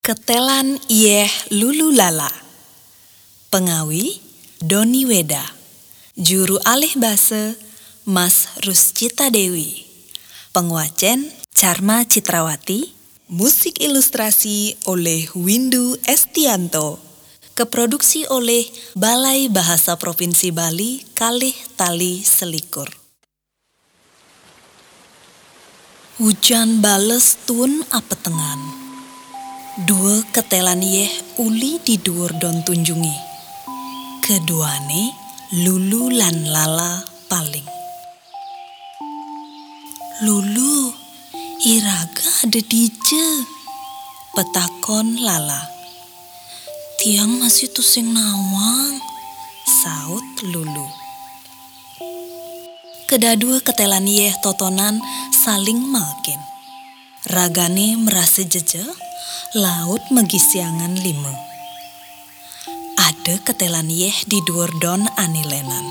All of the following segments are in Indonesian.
Ketelan Yeh Lulu Lala. Pengawi Doni Weda. Juru alih basa Mas Ruscita Dewi. Penguacen Charma Citrawati. Musik ilustrasi oleh Windu Estianto. Keproduksi oleh Balai Bahasa Provinsi Bali Kalih Tali Selikur. Hujan bales tun apetengan. Dua ketelan yeh uli di dhuwur don tunjungi. Keduane Lulu lan Lala paling. Lulu, iraga ada dije, petakon Lala. Tiang masih tusing nawang, saut Lulu. Kedadua ketelan yeh totonan saling malkin. Ragane merasa jeje, laut megisiangan lima. Ada ketelan yeh di dhuwur don anilenan.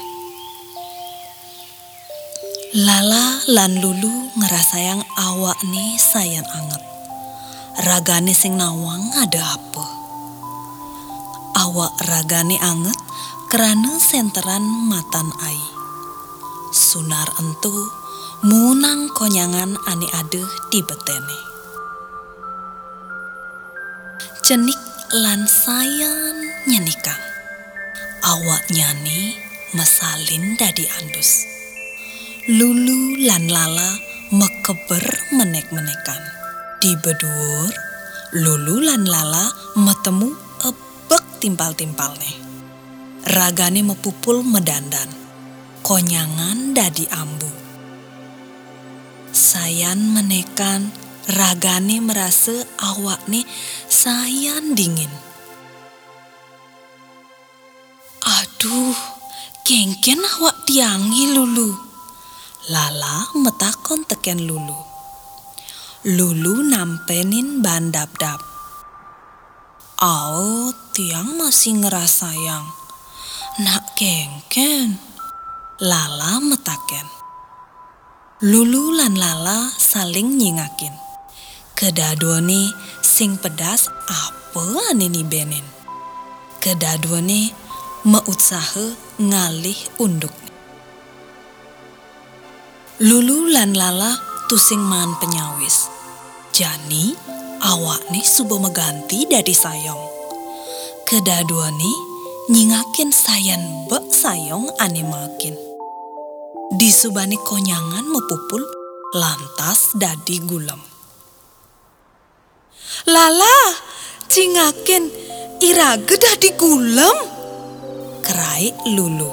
Lala lan Lulu ngerasayang awak nih sayan anget. Ragane sing nawang ada apa? Awak ragane anget kerana senteran matan ai. Sunar entu munang konyangan ane adeh di betene. Cenik lan sayan nyenikang. Awak nyani mesalin dadi andus. Lulu lan Lala mekeber menek-menekan. Di bedhuwur, Lulu lan Lala metemu ebek timpal-timpalne. Ragane mepupul medandan. Konyangan dadi ambu. Sayan menekan, ragane merasa awakne sayan dingin. Aduh, kengken awak tiangi Lulu. Lala metakon teken Lulu. Lulu nampenin bandap-dap. Ao, tiang masih ngerasayang. Nak kengken. Lala metaken. Lulu lan Lala saling nyingakin. Kedaduane sing pedas apa ane ni benen. Kedaduane meusaha ngalih unduk. Lulu lan Lala tusing man penyawis. Jani awakne subo meganti dadi sayong. Kedaduane nyingakin sayan bek sayong ane makin. Disubani konyangan mepupul lantas dadi gulem. Lala, cingakin iraga dadi gulem, kerai Lulu.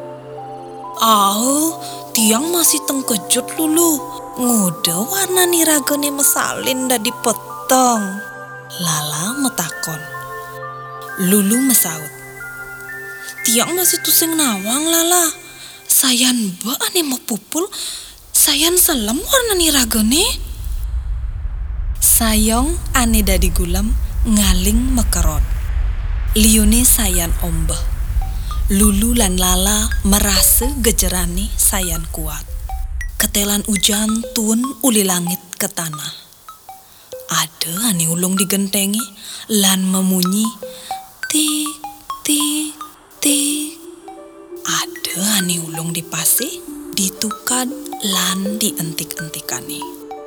Tiang masih tengkejut Lulu. Nguda warna niragane mesalin dadi peteng. Lala metakon. Lulu mesaut. Tiang masih tusing nawang Lala. Sayan ba ane mepupul, sayan selem warna niragane. Sayong ane dadi gulem ngaling mekerot. Liune sayan ombeh. Lulu lan Lala merasa gejerani sayan kuat. Ketelan ujan tun uli langit ke tanah. Ada ane ulung digentengi lan memunyi tik tik tik. Ada ane ulung dipase, ditukad lan dientik-entikane.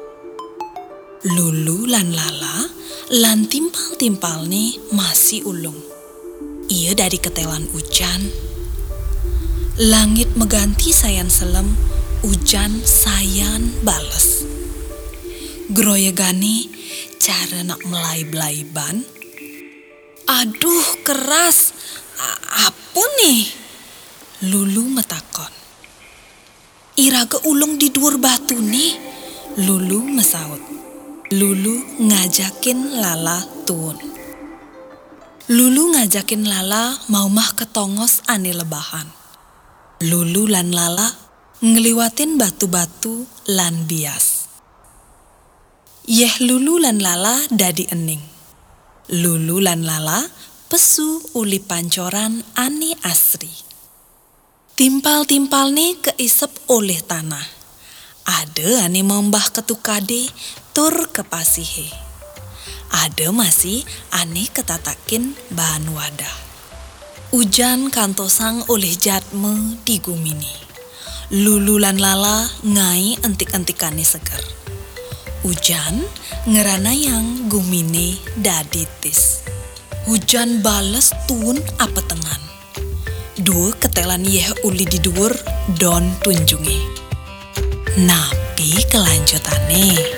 Lulu lan Lala lan timpal-timpalne masih ulung. Ia dari ketelan ujan. Langit meganti sayan selem, ujan sayan bales. Groyegane cara nak melai-belaiban. Aduh keras, apa nih? Lulu metakon. Iraga ulung di dhuwur batu nih, Lulu mesaut. Lulu ngajakin Lala tun. Lulu ngajakin Lala mau mah ketongos ane lebahan. Lulu lan Lala ngeliwatin batu-batu lan bias. Yeh Lulu lan Lala dadi ening. Lulu lan Lala pesu uli pancoran ane asri. Timpal-timpalne keisep oleh tanah. Ada ane membah ketukade tur kepasihe. ada masih aneh ketatakin bahan wadah. Ujan kantosang oleh jatme di gumini. Lululan lala ngai entik-entikane seger. Ujan ngerana yang gumine daditis. Hujan bales tun apa tengan. Dua ketelan yeh uli di dhuwur don tunjunge. Napi kelanjutane.